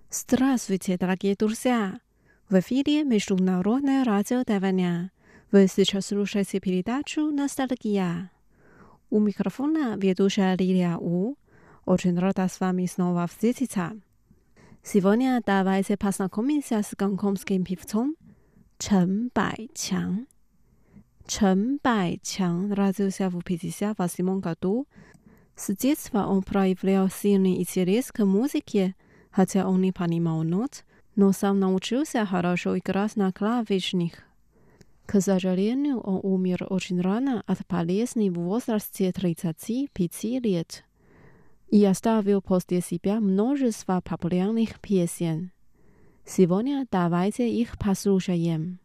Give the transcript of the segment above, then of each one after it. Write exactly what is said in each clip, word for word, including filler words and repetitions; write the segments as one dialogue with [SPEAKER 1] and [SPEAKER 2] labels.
[SPEAKER 1] Здравствуйте, дорогие друзья! В эфире Международное радио Тайваня. Вы сейчас слушаете передачу «Ностальгия». У микрофона ведущая Лилия У. Очень рада с вами снова встретиться. Сегодня давайте познакомимся с гонконгским певцом Чен Байчан. Чен Байчан родился в пятьдесят восьмом году. С детства он проявлял сильный интерес к музыке, хотя он не понимал нот, но сам научился хорошо играть на клавишных. К сожалению, он умер очень рано от болезни в возрасте тридцати пяти лет и оставил после себя множество популярных песен. Сегодня давайте их послушаем.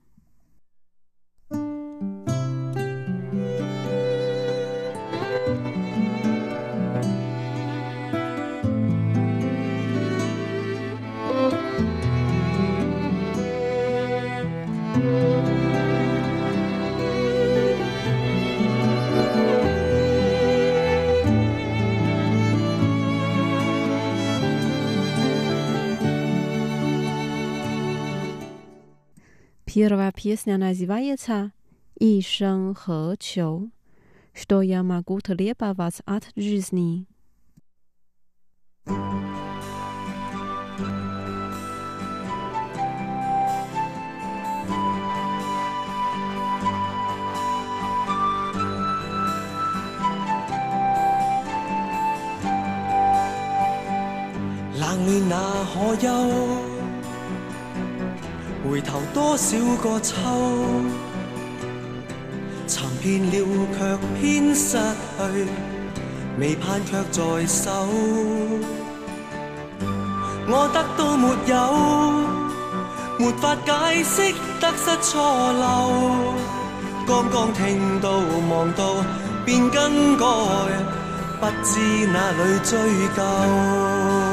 [SPEAKER 1] Первая песня называется «И生何求», что я могу требовать от жизни.
[SPEAKER 2] 冷暖那可休？ 回頭多少個秋，尋遍了卻偏失去，未盼卻在手。我得到沒有，沒法解釋得失錯漏。剛剛聽到望到便更改，不知哪裏追究。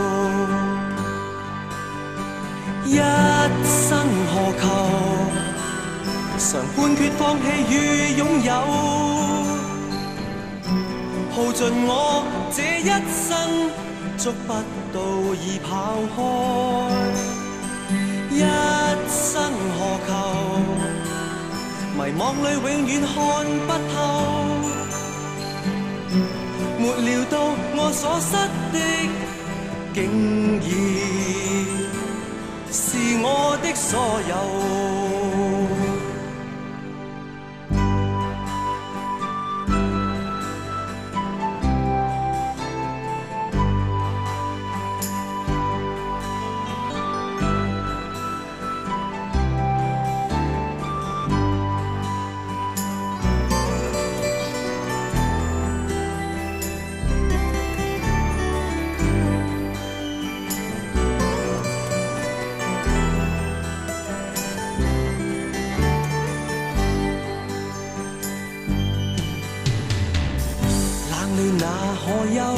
[SPEAKER 2] 一生何求？常判決放棄與擁有，耗盡我這一生，捉不到已跑開。一生何求？迷惘裏永遠看不透，沒料到我所失的，竟然 是我的所有。 那可休？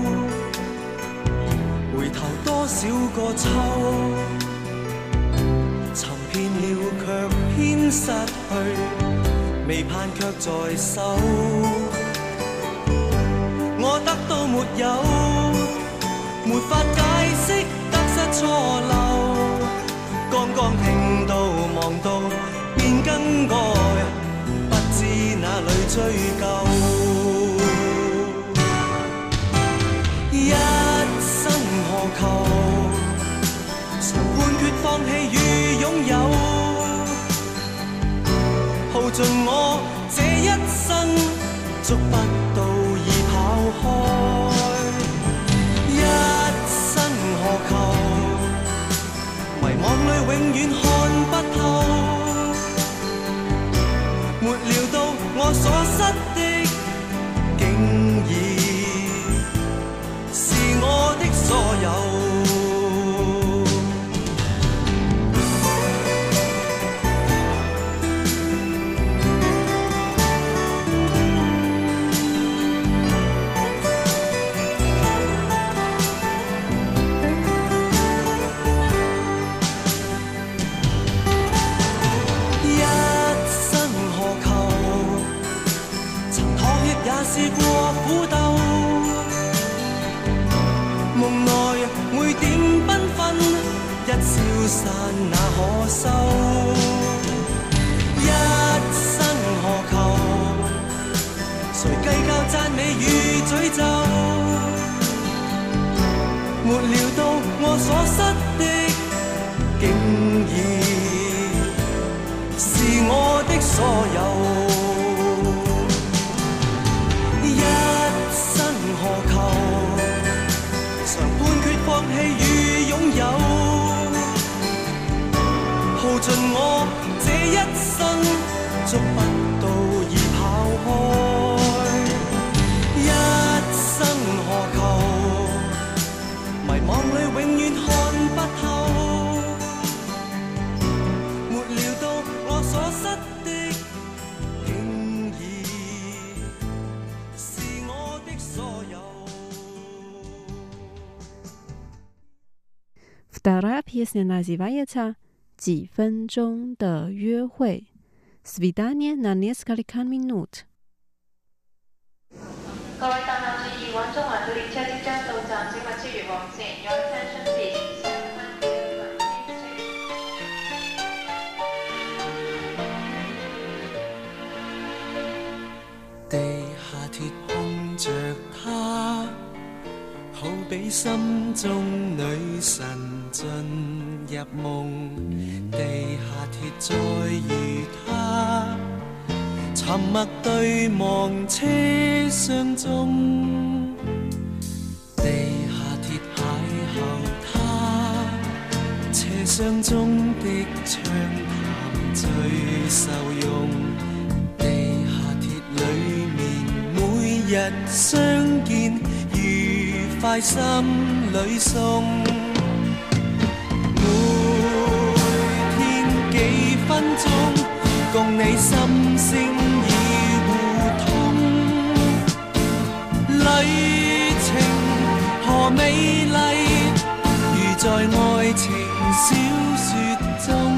[SPEAKER 2] 回頭多少個秋，尋遍了卻偏失去，未盼卻在手。我得到沒有，沒法解釋得失錯漏。剛剛聽到望到便更改，不知哪裏追究。 一生何求？常判決放棄與擁有，耗盡我這一生，捉不到已跑開。一生何求？迷惘裏永遠看不透，沒料到我所失的，竟然 我的所有。 一生何求？曾妥協也試過苦鬥。 夢內每點繽紛， 消散那可收？一生何求？誰計較讚美與詛咒？沒料到我所失的，竟已是我的所有。一生何求？常判決放棄與擁有，耗盡我這一生，捉不到已跑開。一生何求？迷惘裏永遠看不透，沒料到我所失的，竟已是我的所有。
[SPEAKER 1] Вторая песня называется «几分钟的约会» Свидание на несколько минут。
[SPEAKER 3] 各位搭客注意，往中環嘅列車即將到站，請勿超越黃線。Your attention please。
[SPEAKER 2] 地下鐵碰着她，好比心中女神進入夢。地下鐵再遇她，沉默對望車廂中。地下鐵邂逅她，車廂中的暢談最受用。地下鐵裏面每日相見，愉快心裏送。每天幾分鐘，共你心聲已互通。旅程何美麗，如在愛情小說中。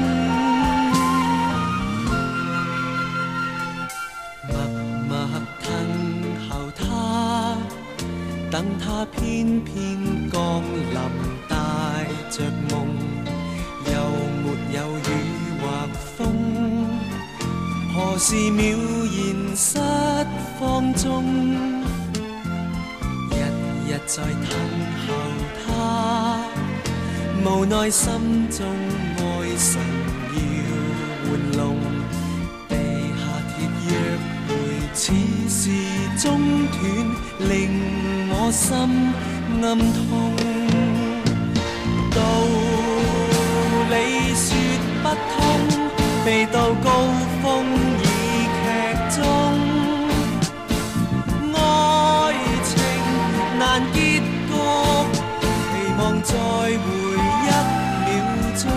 [SPEAKER 2] 默默等候他，等他偏偏降臨，帶着夢，又沒有雨或風。何時渺然失放縱，日日在等候他，無奈心中愛神要玩弄。地下鐵約會似是中斷，令我心暗痛。道理說不通，未到高峰已劇終。愛情難結局，期望再會一秒鐘。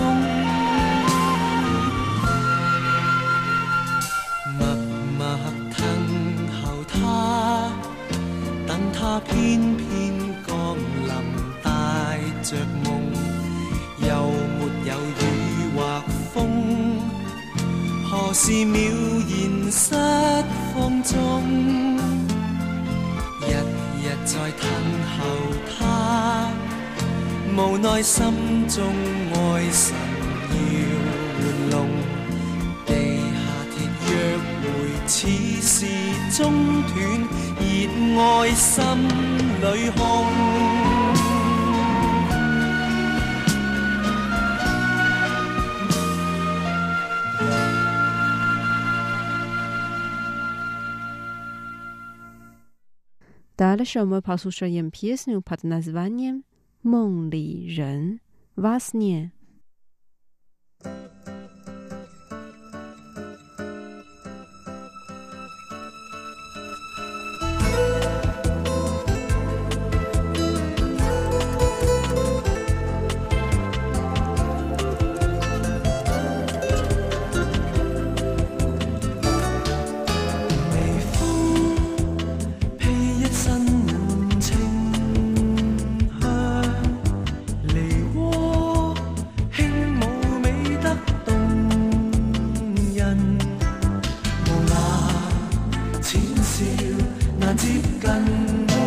[SPEAKER 2] 默默等候他，等他偏偏降臨，帶着夢，又沒有雨或風。何時渺然失放縱，日日在等候他，無奈心中愛神要玩弄。地下鐵約會似是中斷，熱愛心裏空。
[SPEAKER 1] Дальше мы послушаем песню под названием «梦里人» во сне。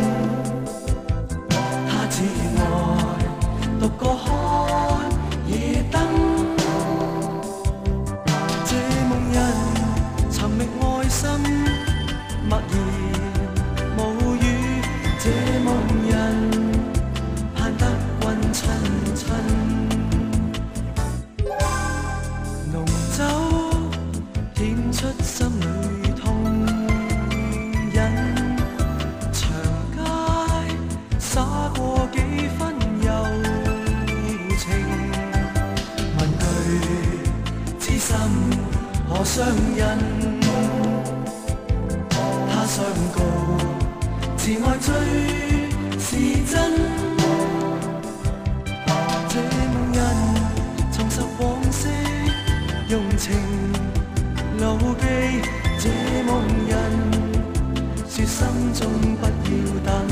[SPEAKER 2] 獨個看，已上人，他相告，慈爱最是真。这梦人重拾往昔用情牢記，這夢人說心中不要等，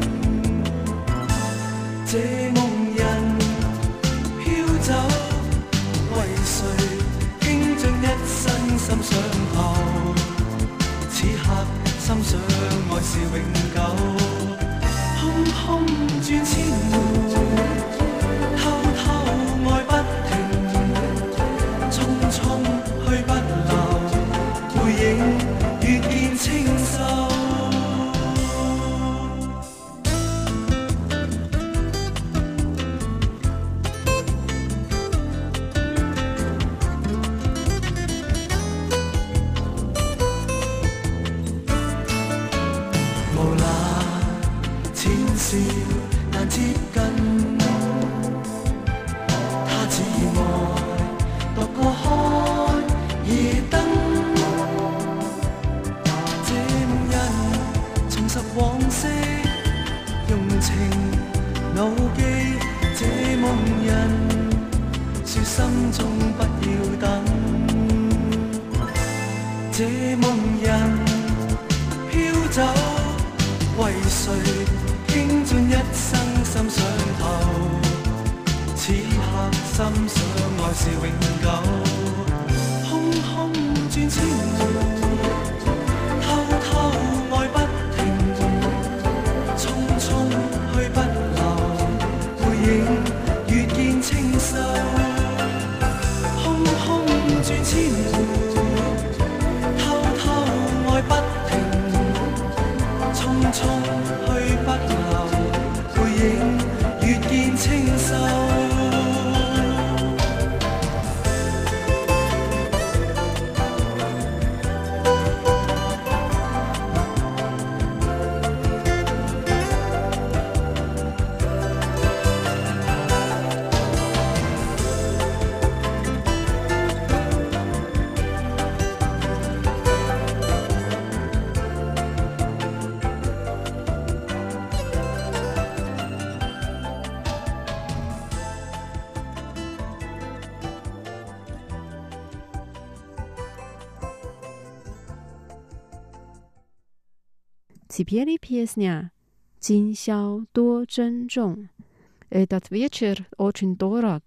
[SPEAKER 2] 這夢人飄走，為誰傾盡一生心上頭？此刻心想愛是永久，空空轉千回，偷偷愛不停，匆匆去不留，背影越見清秀。難接近，他似愛獨個開夜燈，這夢人重拾往昔用情牢記，這夢人說心中不要等，這夢人飄走，為誰傾盡一生心上頭？此刻心想愛是永久，空空轉千回，偷偷愛不停，匆匆去不留，背影越見清秀，空空轉千回，偷偷愛不停，匆匆去不留，背影越見清秀。
[SPEAKER 1] Теперь песня «День宵多珍重». Этот вечер очень дорог.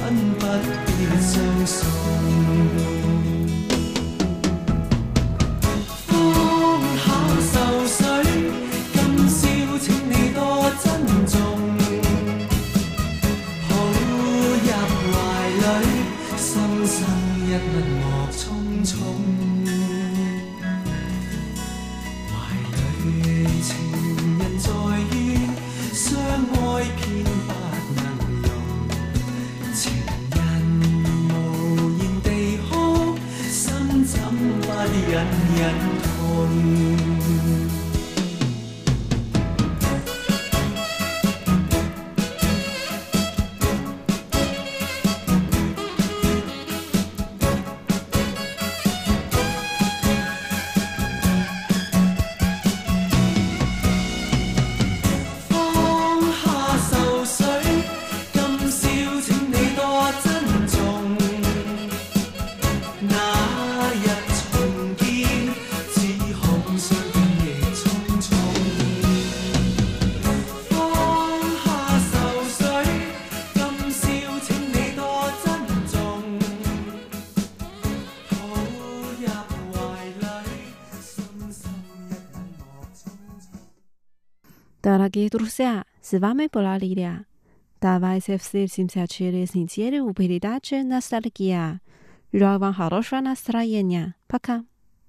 [SPEAKER 2] 不必相信。放下愁緒，今宵請你多珍重，抱入懷裏，深深一吻莫匆匆。懷裏情人在於相愛偏不能容，情人無言地哭，心怎不隱隱痛。
[SPEAKER 1] Дорогие друзья, с вами была Лилия. Давайте встретимся через неделю в передаче «Ностальгия». Желаю вам хорошего настроения. Пока.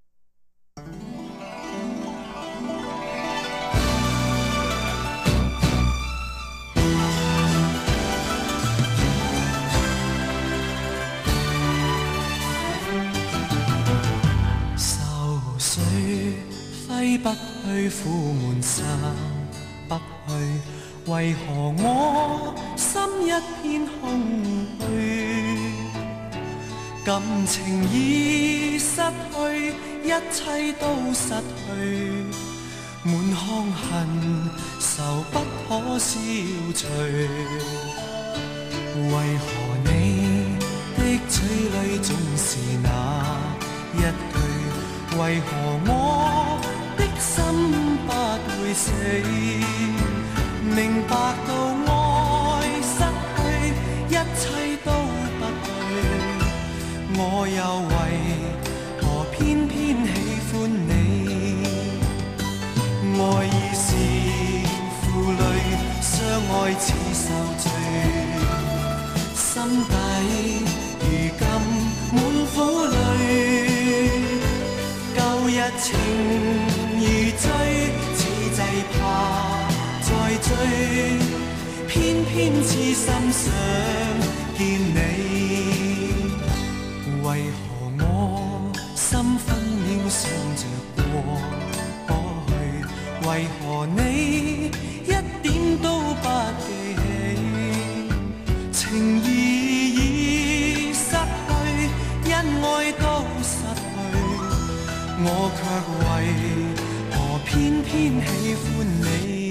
[SPEAKER 2] 愁緒揮不去，苦悶散不去，為何我心一片空虛？感情已失去，一切都失去，滿腔恨愁不可消除。為何你的嘴裏總是那一句？為何我的心不會死？明白到愛失去，一切都不對，我又為何偏偏喜歡你？愛已是負累，相愛似受罪，心底如今滿苦淚。舊日情如醉，此際怕再追，偏偏痴心想見你。為何我心分秒想着過去？為何你一點都不記起？情義已失去，恩愛都失去，我卻為何偏偏喜歡你？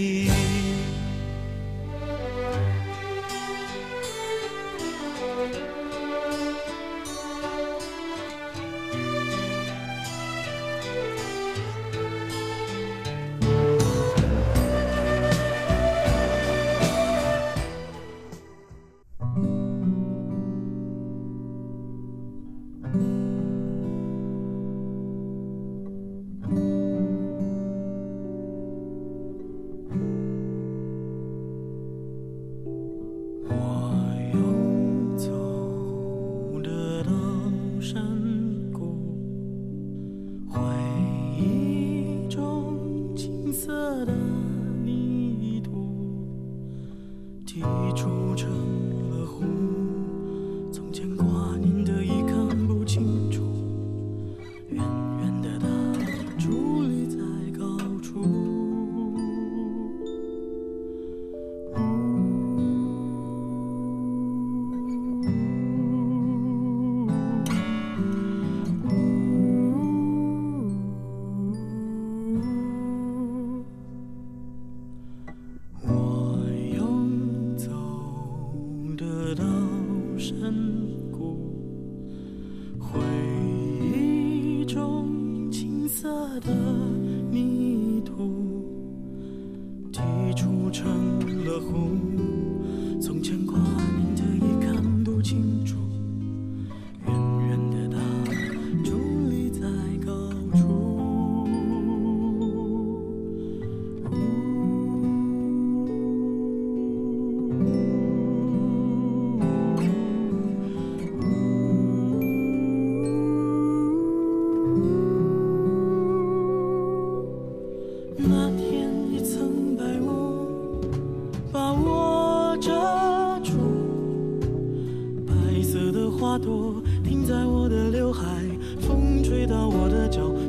[SPEAKER 4] 从前挂念的已看不清。
[SPEAKER 2] 朵停在我的刘海，风吹到我的脚，